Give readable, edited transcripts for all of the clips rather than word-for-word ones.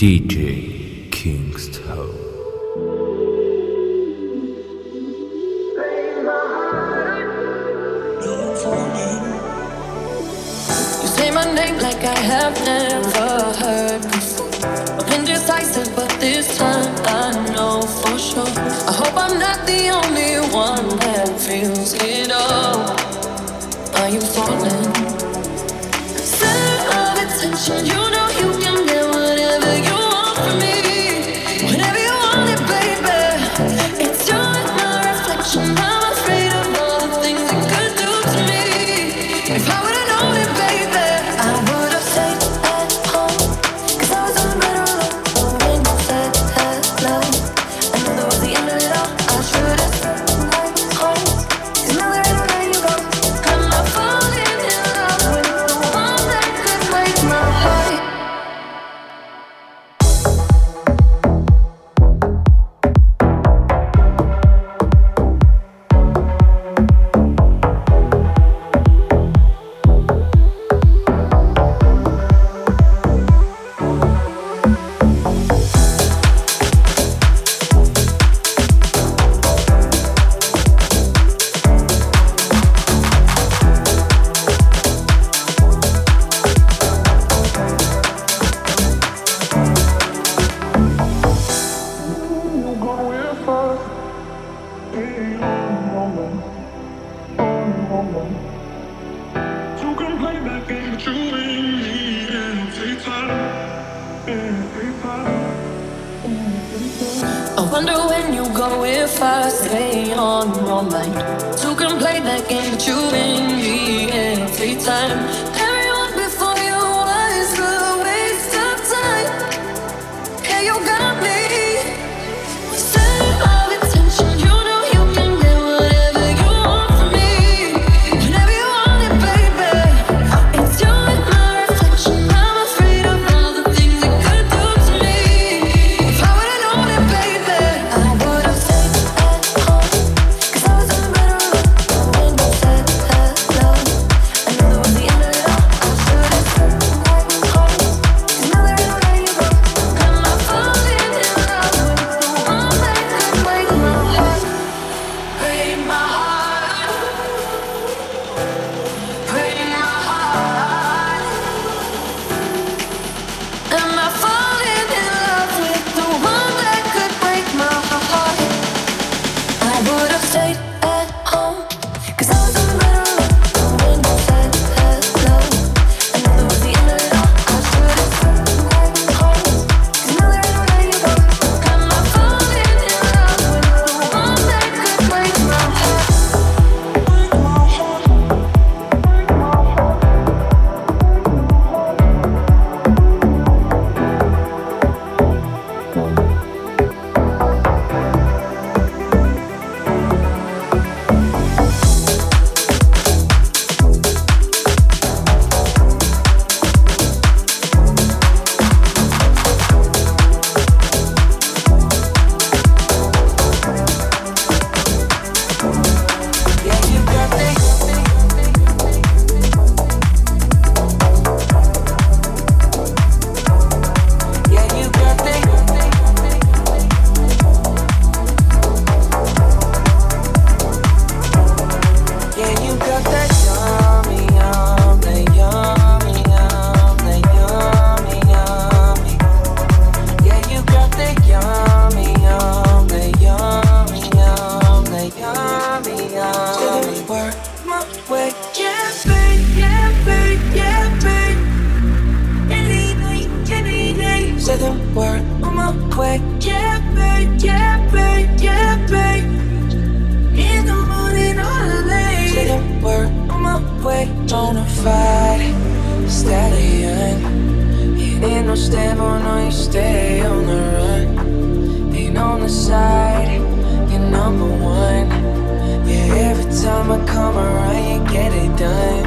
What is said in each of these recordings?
DJ Kingston. You say my name like I have never heard before. I've been indecisive, but this time I know for sure. I hope I'm not the only one that feels it all. Are you falling? Center of attention, you know you can get whatever you want from me. Whenever you want it, baby. It's you and my reflection. I'm afraid of all the things it could do to me. If I would've known it, baby, I would've stayed at home. 'Cause I was doing better alone when you said hello. I knew that was the end of it all. I should've stayed home. 'Cause now there ain't no way you go. I'm not falling in love with the one that could break my heart. I wonder when you go if I stay on your mind. Two can play that game that you and me every time. Everyone before you was a waste of time. Yeah, you got me. Center of attention, you know you can get whatever you want from me. Whenever you want it, baby. It's you and my reflection. I'm afraid of all the things it could do to me. If I would've known it, baby, I would've stayed at home. 'Cause I was doing better alone when you said hello. I knew that was the end of it all. I should've stayed home. 'Cause now there ain't no way you go. I'm not falling in love with the one that could break my heart. Break my heart. Break my heart. Am I falling in love with the one that could break my heart? I would've stayed at home. 'Cause I was doing better alone when you said hello. I knew that was the end of it all. I should've stayed home. 'Cause now there ain't no way you go. Am I falling in love with the one that could break my heart? Say the word on my way. Yeah, babe, yeah, babe, yeah, babe. In the morning or late. Say the word on my way. Bonafide stallion. You ain't no stable, no, you stay on the run. Ain't on the side, you're number one. Yeah, every time I come around, you get it done.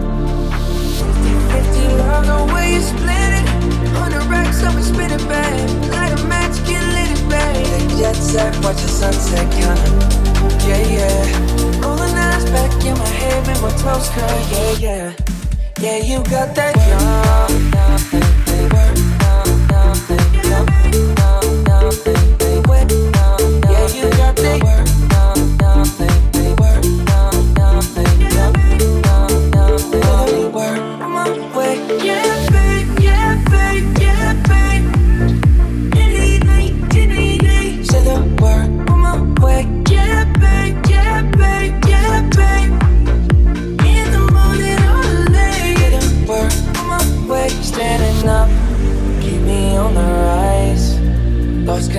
50-50 love, the way you split it. 100 racks up and spin it back. Light a match, get lit it back. Take jet set, watch the sunset, kinda. Yeah, yeah. Roll the eyes back in my head, make my toes curl. Yeah, yeah. Yeah, you got that young, work,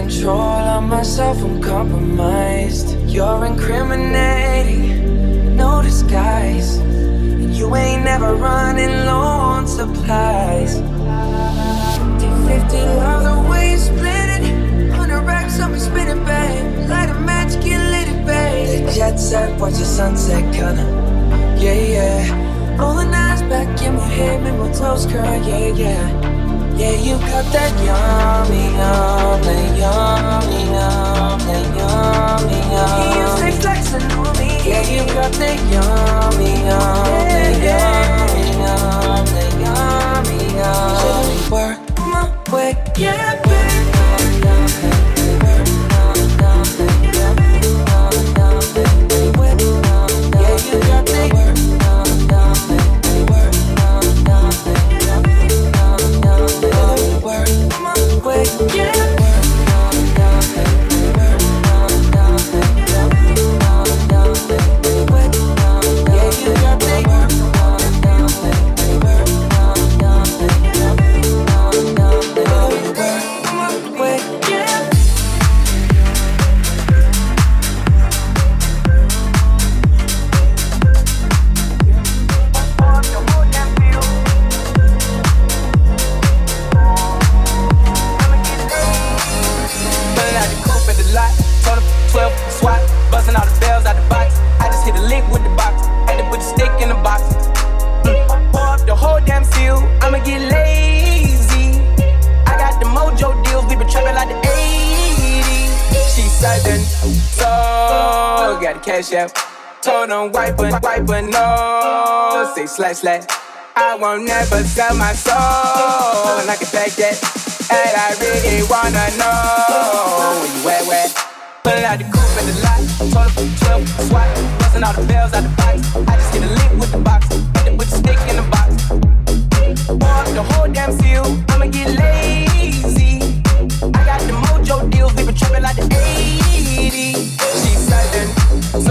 control of myself, I'm compromised. You're incriminating, no disguise. And you ain't never running low on supplies. Take 50 miles away, split it. 100 racks up and spin it, babe. Light a match, get lit it, babe. The jet set, watch the sunset, kinda. Yeah, yeah. Rolling eyes back in my head, make my toes curl, yeah, yeah. Yeah, you got that yummy, yummy, yummy, yummy, yummy, yummy. You say flexing on me. Yeah, you got that yummy, yummy, yummy, yummy, yummy, yummy. So work my way, yeah, baby. Yeah, you got that work. Told them wipe a no. Say slash slash. I won't never sell my soul, and I can take that. And I really wanna know where you at? Pulling out the coupe in the lot. Told them 12 swat. Busting all the bells out the box. I just hit a lick with the box. Hit it with the stick in the box. Pour up the whole damn seal. I'ma get lazy. I got the mojo deals. We been trapping like the 80s. She's sudden. So,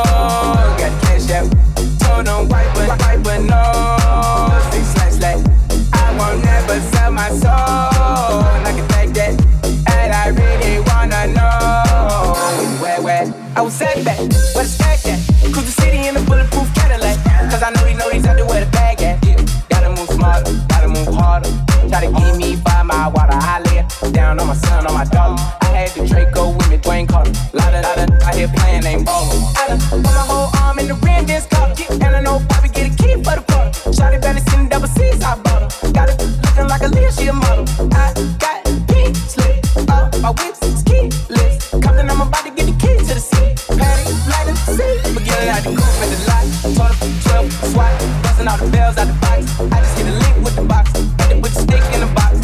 got cash out. Told them wipe a no. Say slash slash. I won't never sell my soul, and I can take that. And I really wanna know where I was set back, where the stack at. Cruise the city in a bulletproof Cadillac. Cause I know he's out there where the bag at. Yeah. Gotta move smarter, gotta move harder. Try to give me 5 mile water. I lay it down on my son, on my daughter. I had the Draco with me, Dwayne Carter. Lot of I hear playing, ain't ballin'. I done put my whole arm in the rim, this car. And I know Bobby get a key for the car. Shawty belly sitting double C's, I bought her. Got it looking like a Leah, she a model. I got pink slip, my whip's keyless. Compton, I'm about to get the keys to the city. Patty, light up the seat. Forgetting out the coupe in the lot. Told her 12 swat. Busting all the bells out the box. I just hit a lick with the box. Hit it with the stick in the box.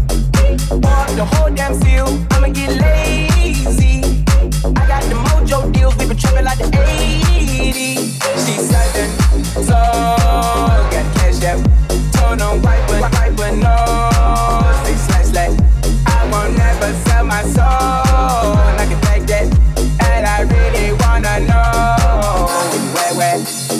Pour up the whole damn seal. I'ma get lazy. I got the mojo deals. We been trapping like the 80s. She's southern, so got cash out. Told them wipe a no. Say slash slash. I won't never sell my soul, and I can take that. And I really wanna know where.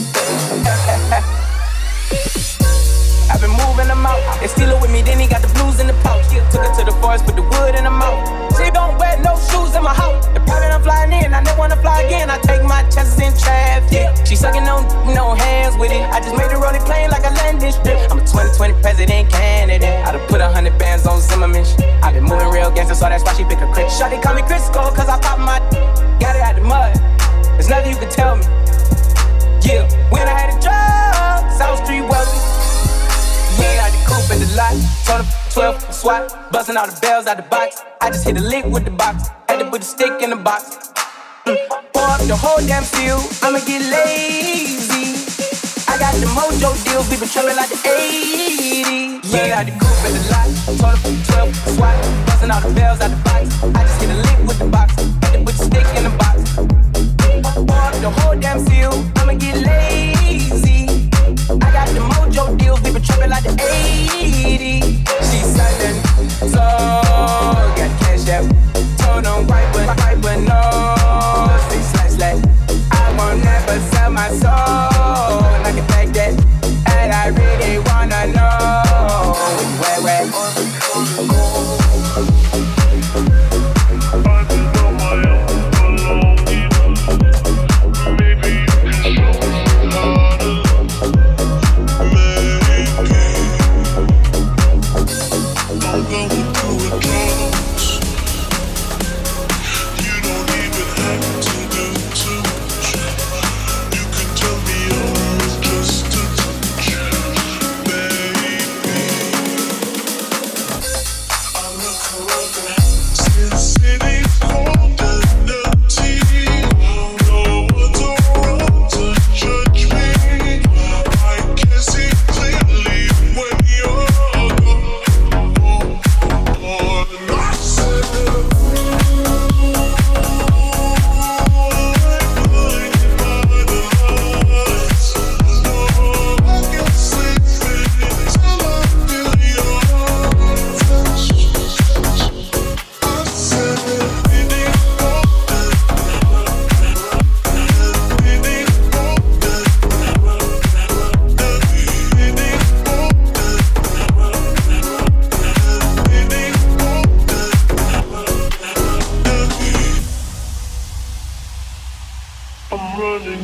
I've been moving them out. They steal it with me, then he got the blues in the pouch. Took it to the forest, put the wood in the mouth. She don't wear no shoes in my house. The private I'm flying in, I never wanna fly again. I take my chances in traffic. She sucking no hands with it. I just made the rolling plane like a landing strip. I'm a 2020 president candidate. I done put 100 bands on Zimmerman. I been moving real gangster, so that's why she pick a crit. Shawty call me Crisco, cause I pop my got it out the mud. There's nothing you can tell me. Yeah, when I had a job, South Street wealthy. Yeah, out the coupe in the lot. Told her 12 swat. Busting all the bells out the box. I just hit a lick with the box. Had to put the stick in the box. Pour up the whole damn seal. I'ma get lazy. I got the mojo deals. We been trapping like the 80s. Yeah, out the coupe in the lot. Told her 12 swat. Busting all the bells out the box. I just hit a lick with the box. Had to put the stick in the box. Pour up the whole damn seal. I'ma get lazy. I got the mojo deals, we been trapping like the 80s. She's southern, so got cash out. Told them wipe a no. Say slash slash. I won't never sell my soul, and I can take that. And I really wanna know where.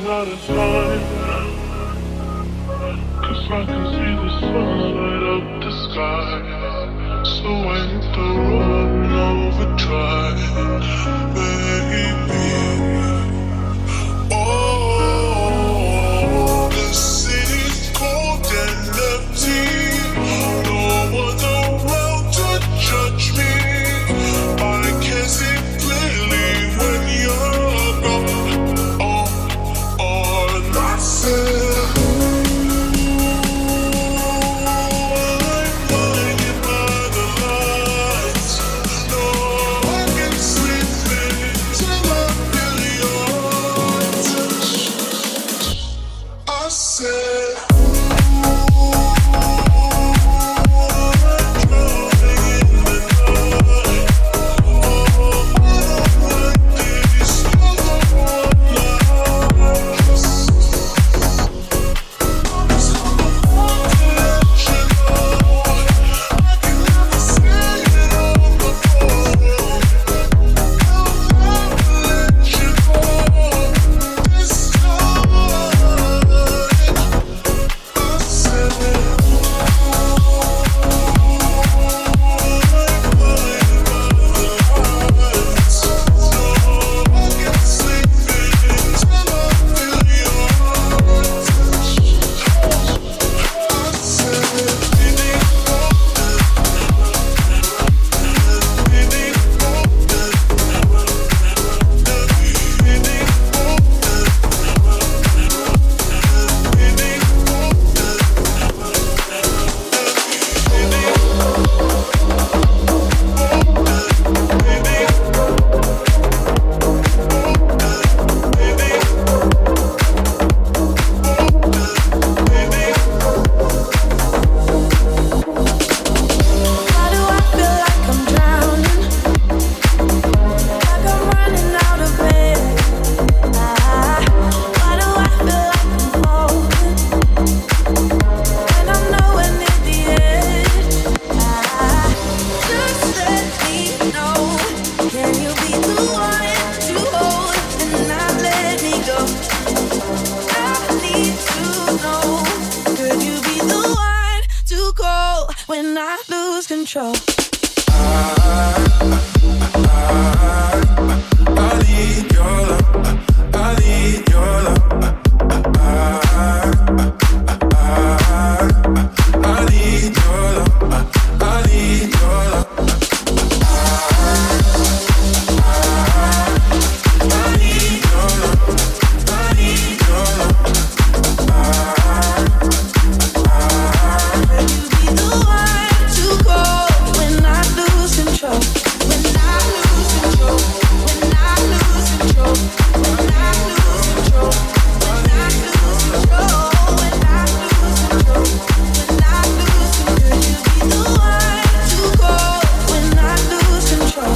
out of time, 'cause I can see the sun light up the sky. So ain't the road overdrive, baby. Oh, the city's cold and empty. No one's around to judge me. I can see clearly when you're gone. Oh, and I said, I'm blinded by the lights. No, I can sleep till I feel your touch. I said, when I lose control. I need your love. I need your love. I need your love. I need your love. I need your love. I need your love. Be the one to go when I lose control. When I lose control. When I lose control. When I lose control. When I lose control. When I lose control. When I lose control. You be the one to go when I lose control.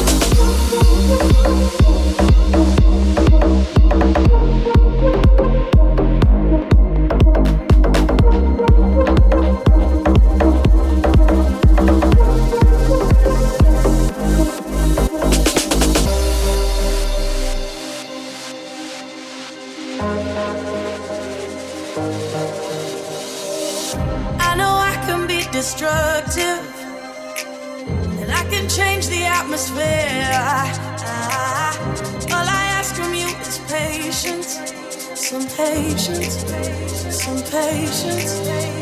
I know I can be destructive, and I can change the atmosphere. All I ask from you is patience, some patience, some patience.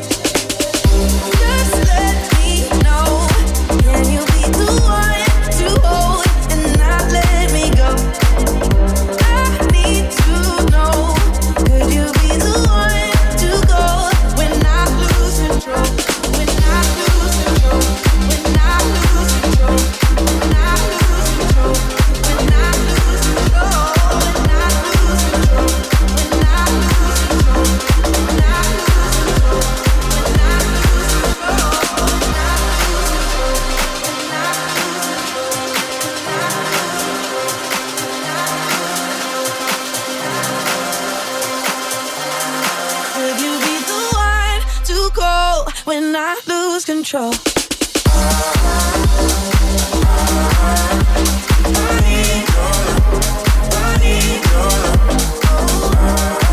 Just let me know, can you be the one to hold and not let me go? I need to know, could you be the one to go when I lose control? When I lose control, when I lose control, when I lose control, when I lose control, when I lose control, when I lose control, when I lose control, when I could you be the one to go when I lose control? I need your love. I need your love.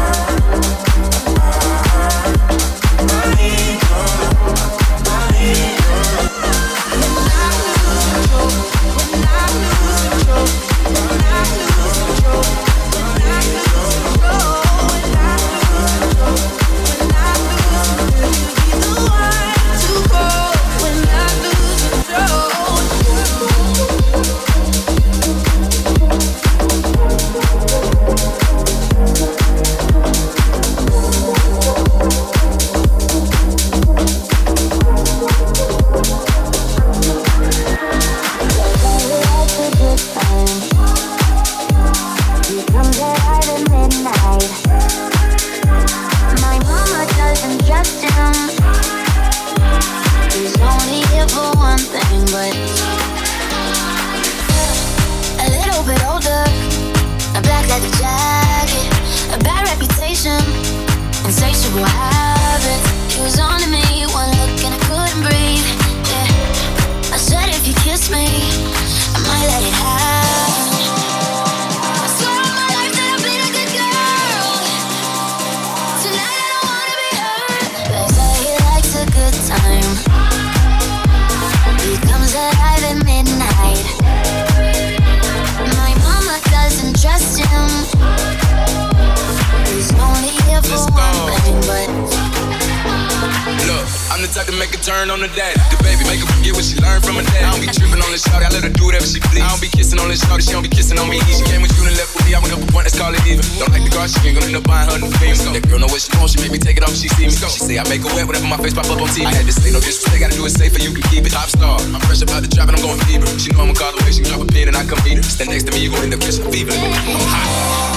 what happened. He was on to me, one look and I couldn't breathe. Yeah, I said if you kiss me, I might let it happen. I swear on my life that I've been a good girl. Tonight I don't wanna be hurt. They say he likes a good time. He comes alive at midnight. My mama doesn't trust him. He's only here for one thing, but look, I'm the type to make a turn on the daddy. The baby make her forget what she learned from her dad. I don't be tripping on this shawty, I let her do whatever she please. I don't be kissing on this shawty, she don't be kissing on me. She came with you and left with me, I went up a point, let's call it even. Don't like the car, she ain't gonna end up buying her new things. That girl know what she wants, she make me take it off, she see me. She say I make her wet whenever my face pop up on TV. I had to say no disrespect, gotta do it safer, you can keep it. Top star, I'm fresh about the drop and I'm going fever. She know I'ma call the way she drop a pin and I come meet her. Stand next to me, you gon' end up catching a fever. I'm hot.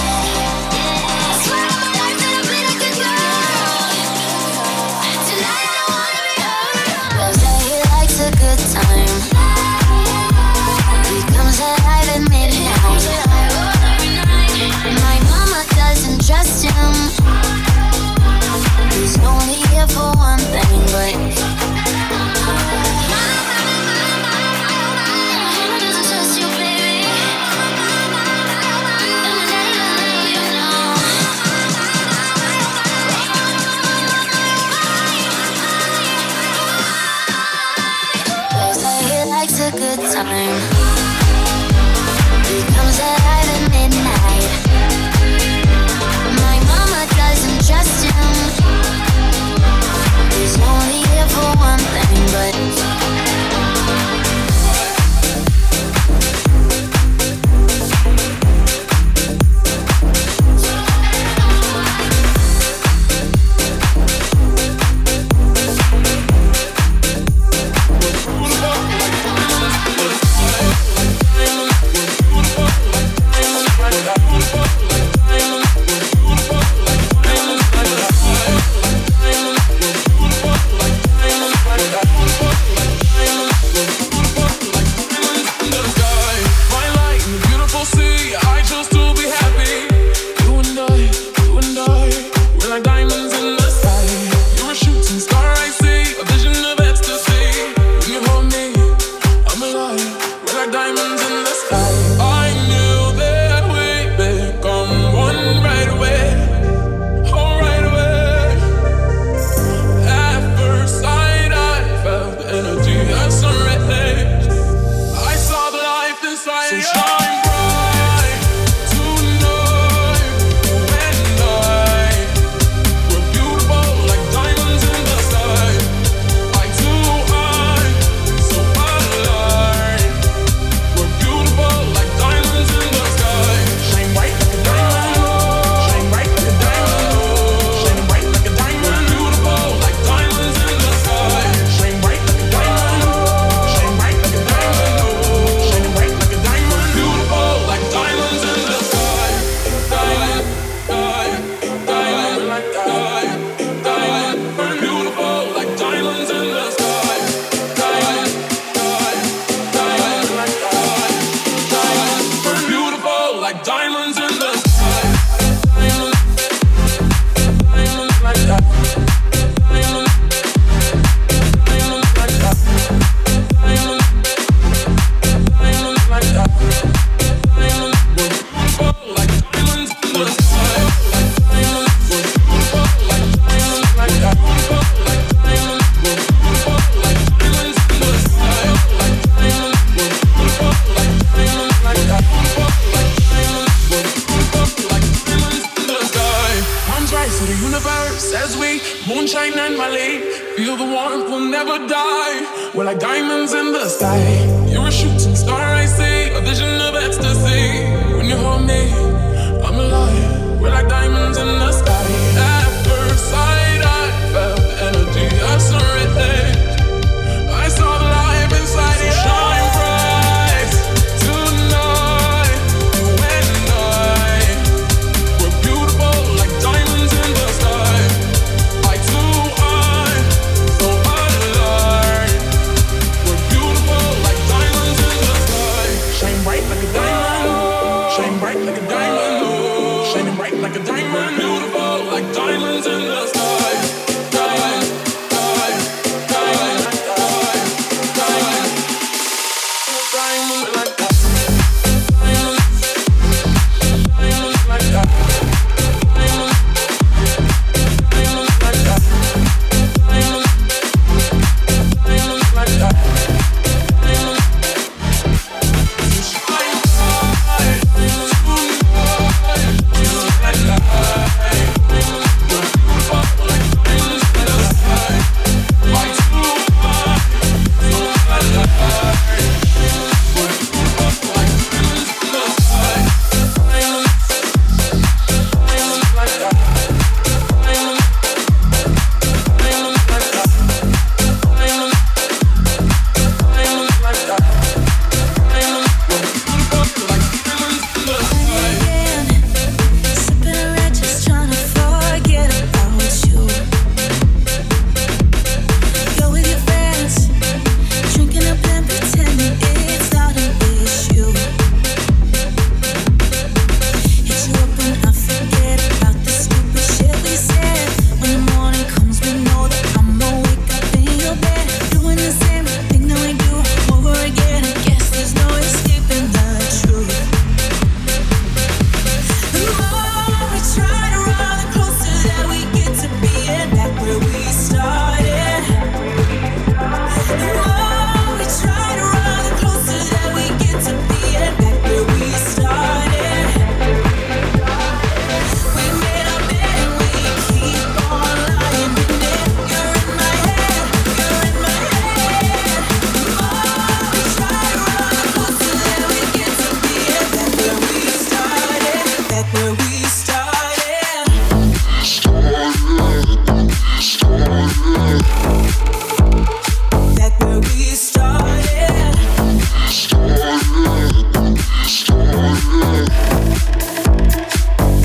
Trust him. He's only here for one thing, but he doesn't trust you, baby. You know. They say he likes a good time. He comes alive at midnight. Doesn't trust him. He's only here for one thing, but like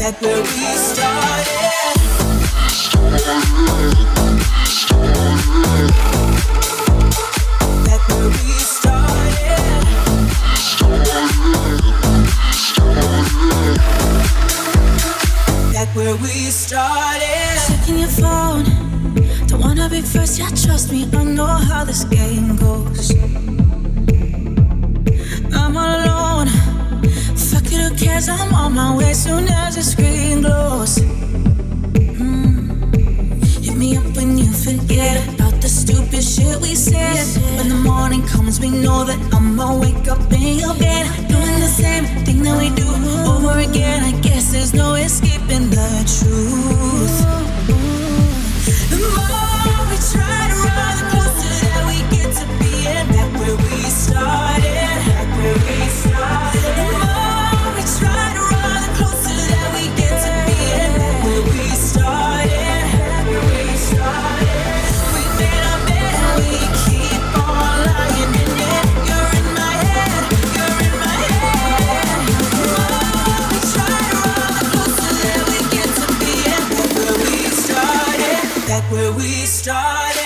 Back where we started. Back where we started. Back where we started. Checking your phone. Don't wanna be first, yeah, trust me, I know how this game goes. I'm all alone. Fuck it, who cares? I'm on my way soon as the screen glows. Hit me up when you forget about the stupid shit we said. When the morning comes, we know that I'ma wake up in your bed, doing the same thing that we do over again. I guess there's no escaping the truth. The more we try to run, the closer that we get to being back where we started. Back where we started. The more we try to run, the closer that we get to being back where we started. Back where we started. We made our bed and we keep on lying in it. You're in my head. You're in my head. The more we try to run, the closer that we get to being back where we started. Back where we started.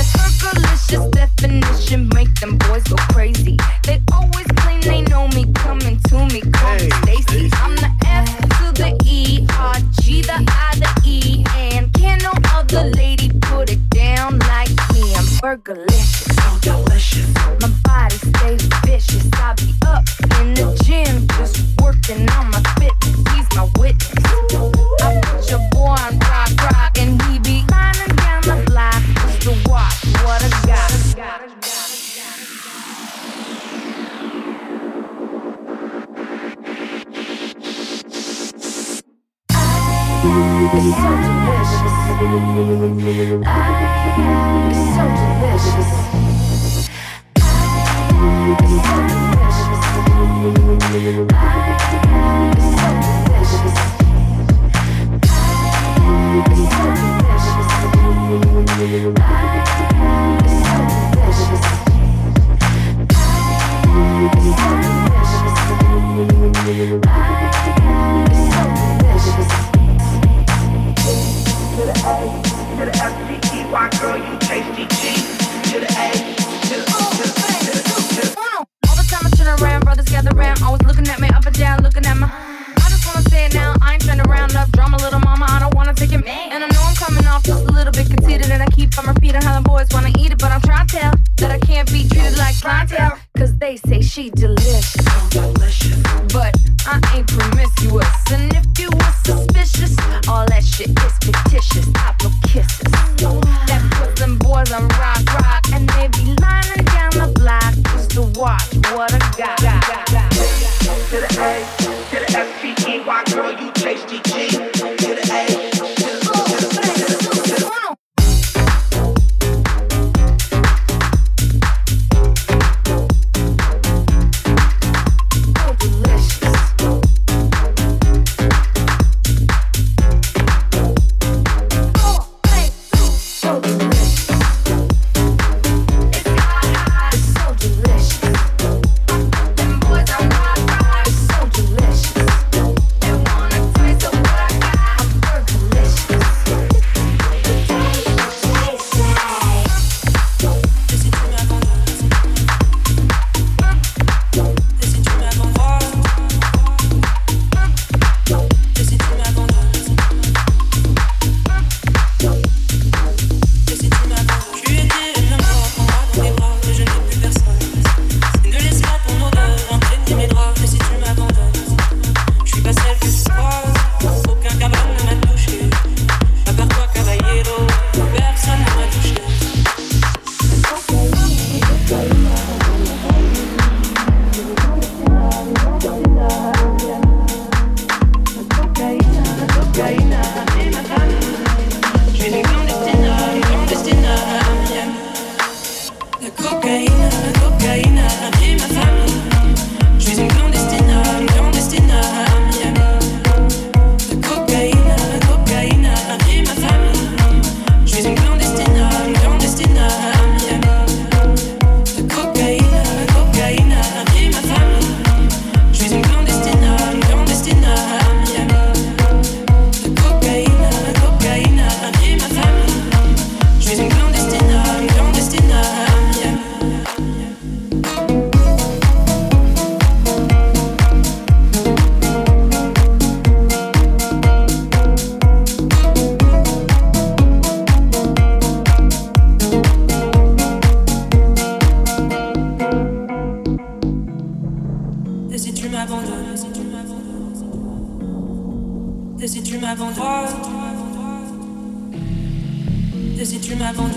Fergalicious definition make them boys go crazy. They always claim they know me, coming to me, call me Stacy. I'm the F to the E, R, G, the I, the E, and can't no other lady put it down like me. I'm Fergalicious, so delicious. My body stays vicious. I be up in the gym, just working on my fitness. He's my witness. I put your boy on rock, and he be climbing down the block just to watch what I got. It's so delicious. It's so delicious. It's so delicious. It's so delicious. It's so delicious. It's so delicious. It's so delicious. To the A, to the F-T-E-Y, girl, you tasty G. To the A, to the all the time I turn around, brothers gather around, always looking at me up and down, looking at my. I just wanna say it now, I ain't trying to round up drama, little mama, I don't wanna take it. And I know I'm coming off just a little bit conceited, and I keep on repeating how the boys wanna eat it, but I'm trying to tell that I can't be treated like clientele, cause they say she delicious. But I ain't promiscuous, and if you were suspicious, all that shit is fictitious. I blow kisses that puts them boys on rock, and they be lining down the block just to watch what I got. To the A, to the F-T-E-Y, girl, you tasty G. To the A, to the Et si tu m'abandonnes,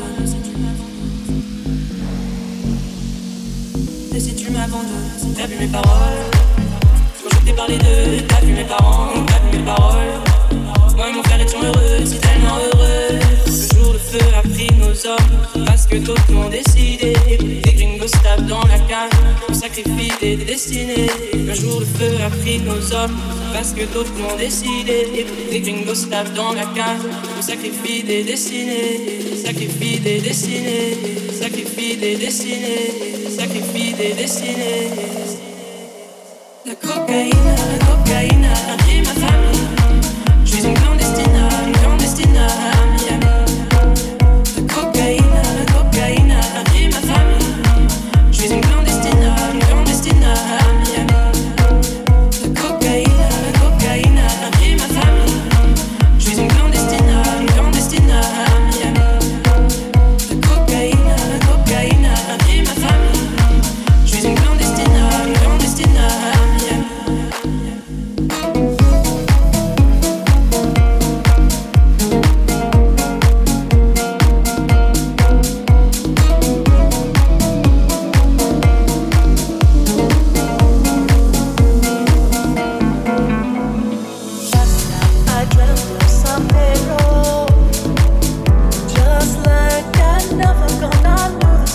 et si tu m'abandonnes, t'as vu mes paroles. Quand je t'ai parlé d'eux, t'as vu mes parents, t'as vu mes paroles. Moi et mon frère étions heureux, si tellement heureux. Le jour le feu a pris nos hommes, parce que d'autres l'ont décidé. Des gringos se tapent dans la cage, on sacrifie des destinées. Un jour le feu a pris nos hommes, parce que d'autres l'ont décidé. Des gringos se tapent dans la cage, on sacrifie des destinées. Sacrifie des destinées, sacrifie des destinées, sacrifie des destinées. La cocaïne a pris ma famille. Je suis une clandestine à Miami. La cocaïne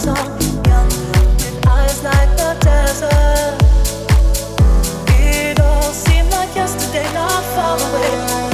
song, young with eyes like the desert. It all seemed like yesterday, not far away.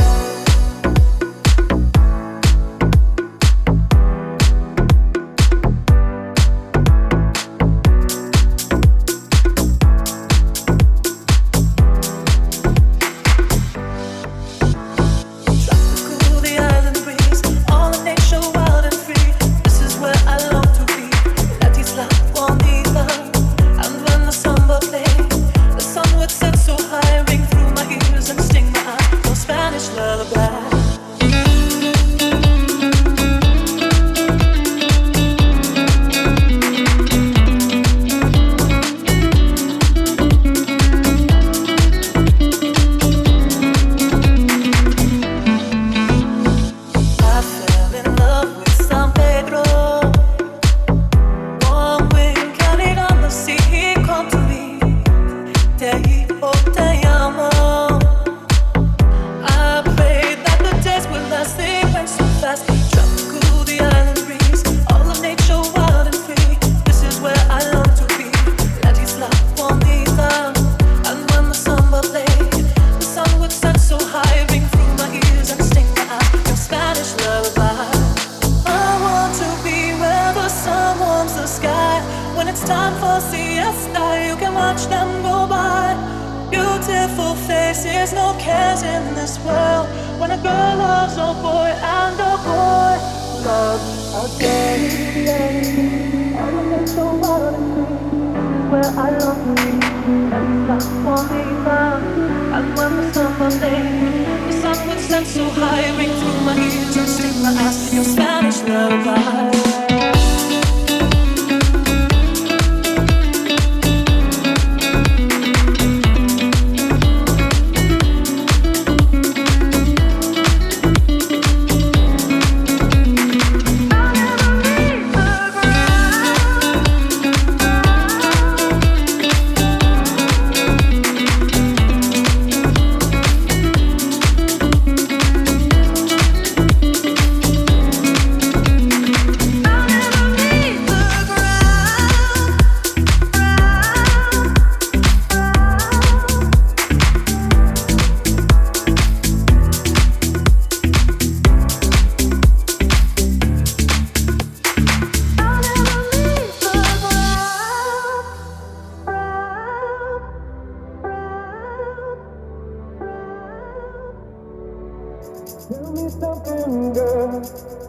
Tell me something, girl.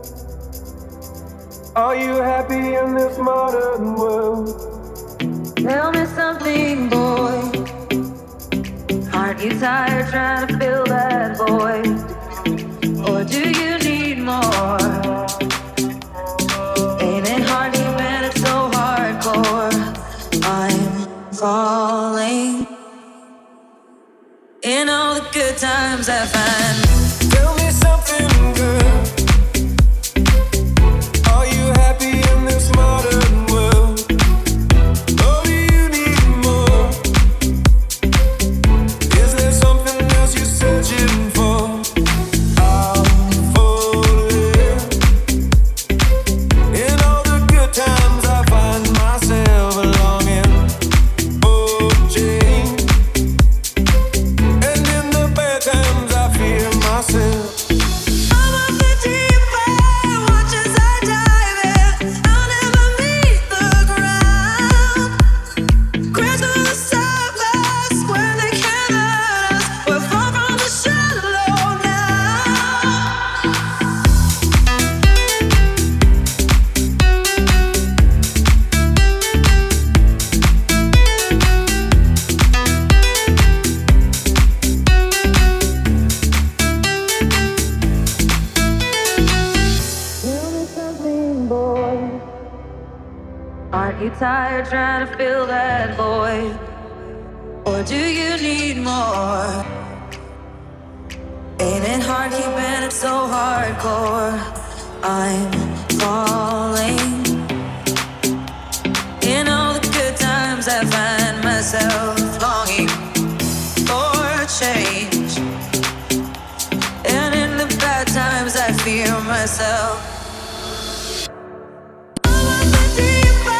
Are you happy in this modern world? Tell me something, boy. Aren't you tired trying to fill that void? Or do you need more? Ain't it hard when it's so hardcore? I'm falling in all the good times I find. Tell me something, girl. Are you happy in this modern world? Or do you need more? Is there something else you're searching for? I'm falling. In all the good times I find myself longing for change. And in the bad times I fear myself. Aren't you tired trying to fill that void? Or do you need more? Ain't it hard keeping it so hardcore? I'm falling. In all the good times I find myself longing for change. And in the bad times I fear myself. Deeper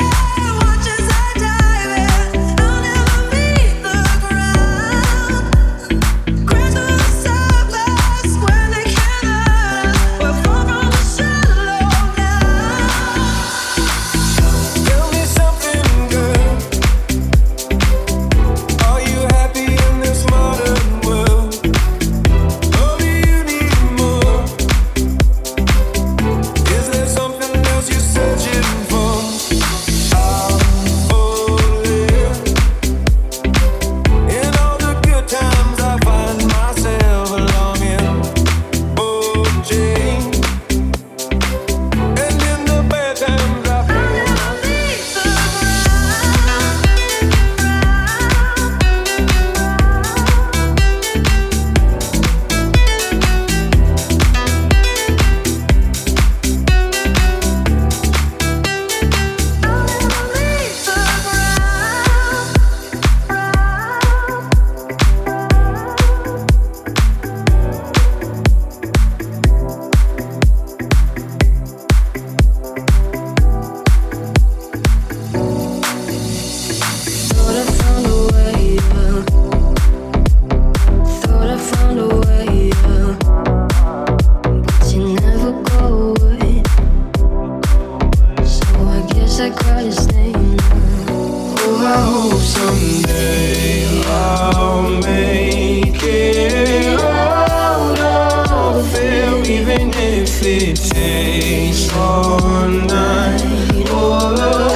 I call his name. Oh, I hope someday I'll make it out of here, even if it takes all night. Oh,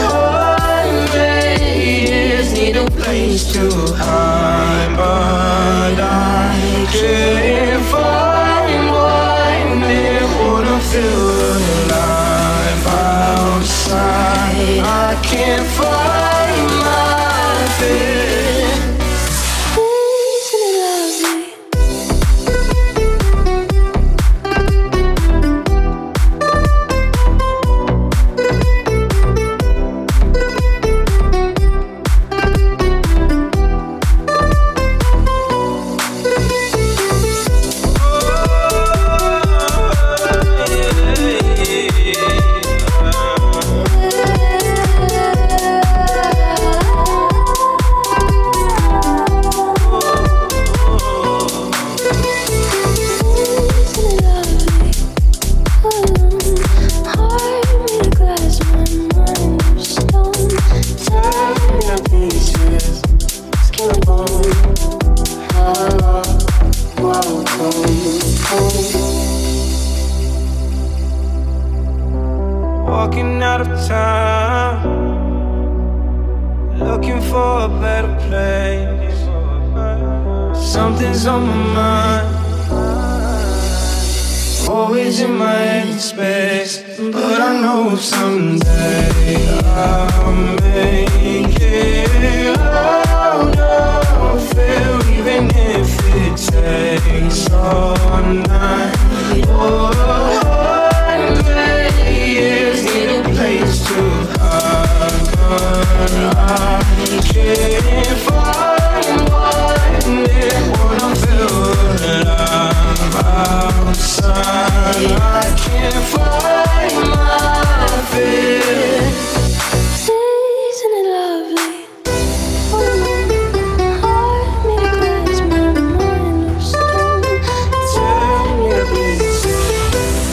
need a place to hide, but I can't find one that wanna feel alive outside. I can't find my fear. Isn't it lovely? Walking out of town, looking for a better place. Something's on my mind, always in my head space. But I know someday I'll make it out of here, even if it takes all night. Need a place to hide, but I can't find one that wanna feel alive outside. I can't find my fear. Isn't it lovely? Heart made of glass, my mind of stone. Tear me to pieces.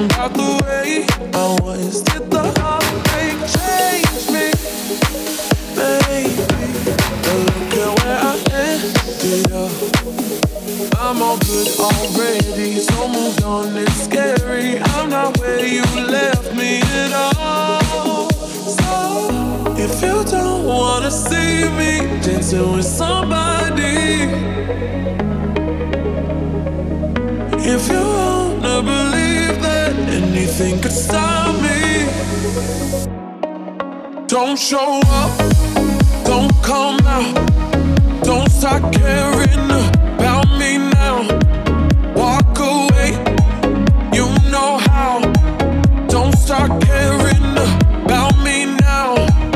about the way I was. Did the heartbreak change me? Baby, but look at where I ended up. I'm all good already, so moved on, it's scary. I'm not where you left me at all. So, if you don't wanna see me dancing with somebody, if you wanna believe that anything could stop me, don't show up, don't come out, don't start caring about me now. Walk away, you know how. Don't start caring about me now.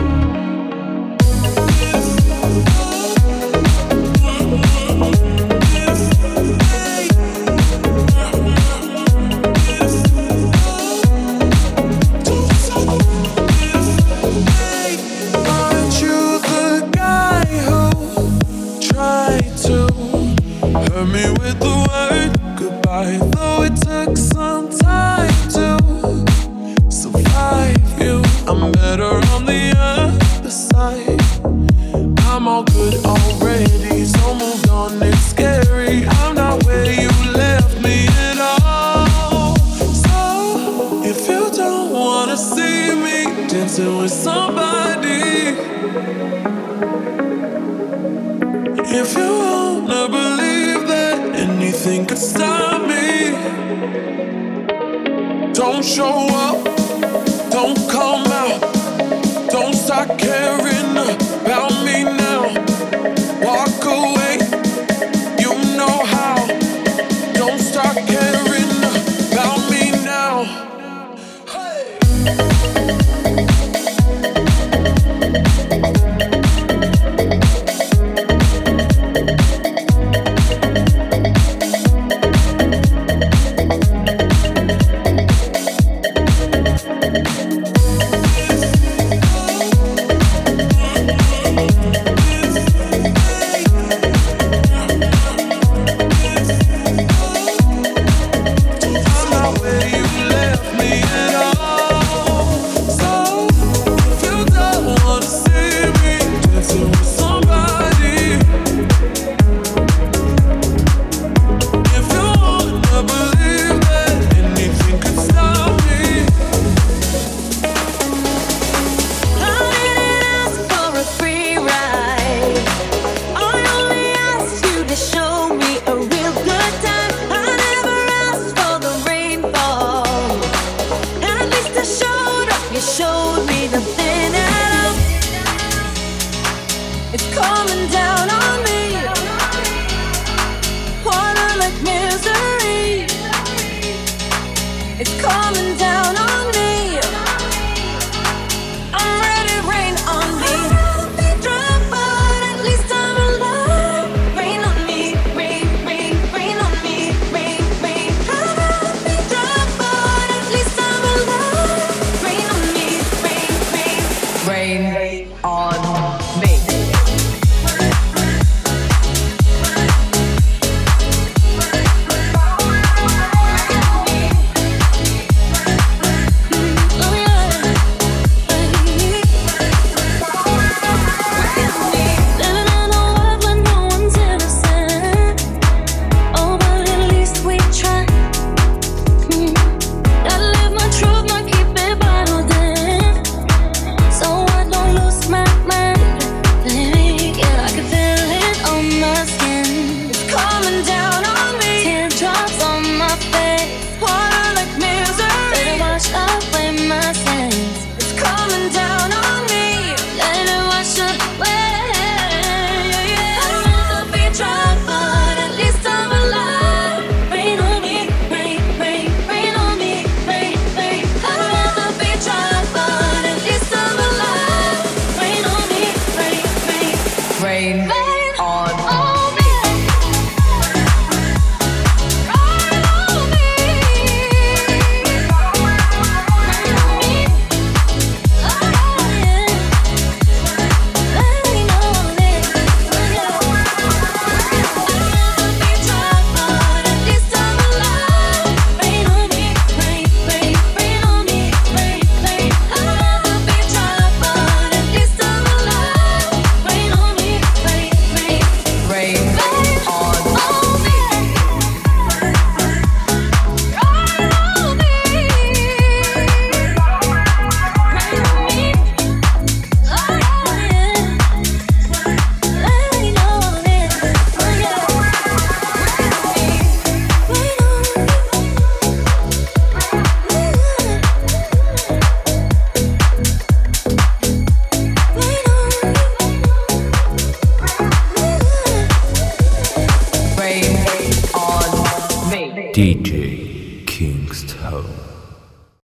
Aren't you the guy who tried to hurt me with the word goodbye? Though it took some time to survive you, I'm better on the other side. I'm all good already, so moved on, it's scary. I'm not where you left me at all. So, if you don't wanna see me dancing with somebody, if you wanna believe that anything could stop me, don't show up, don't come out, don't start caring about me now. Walk away, you know how. Don't start caring about me now. DJ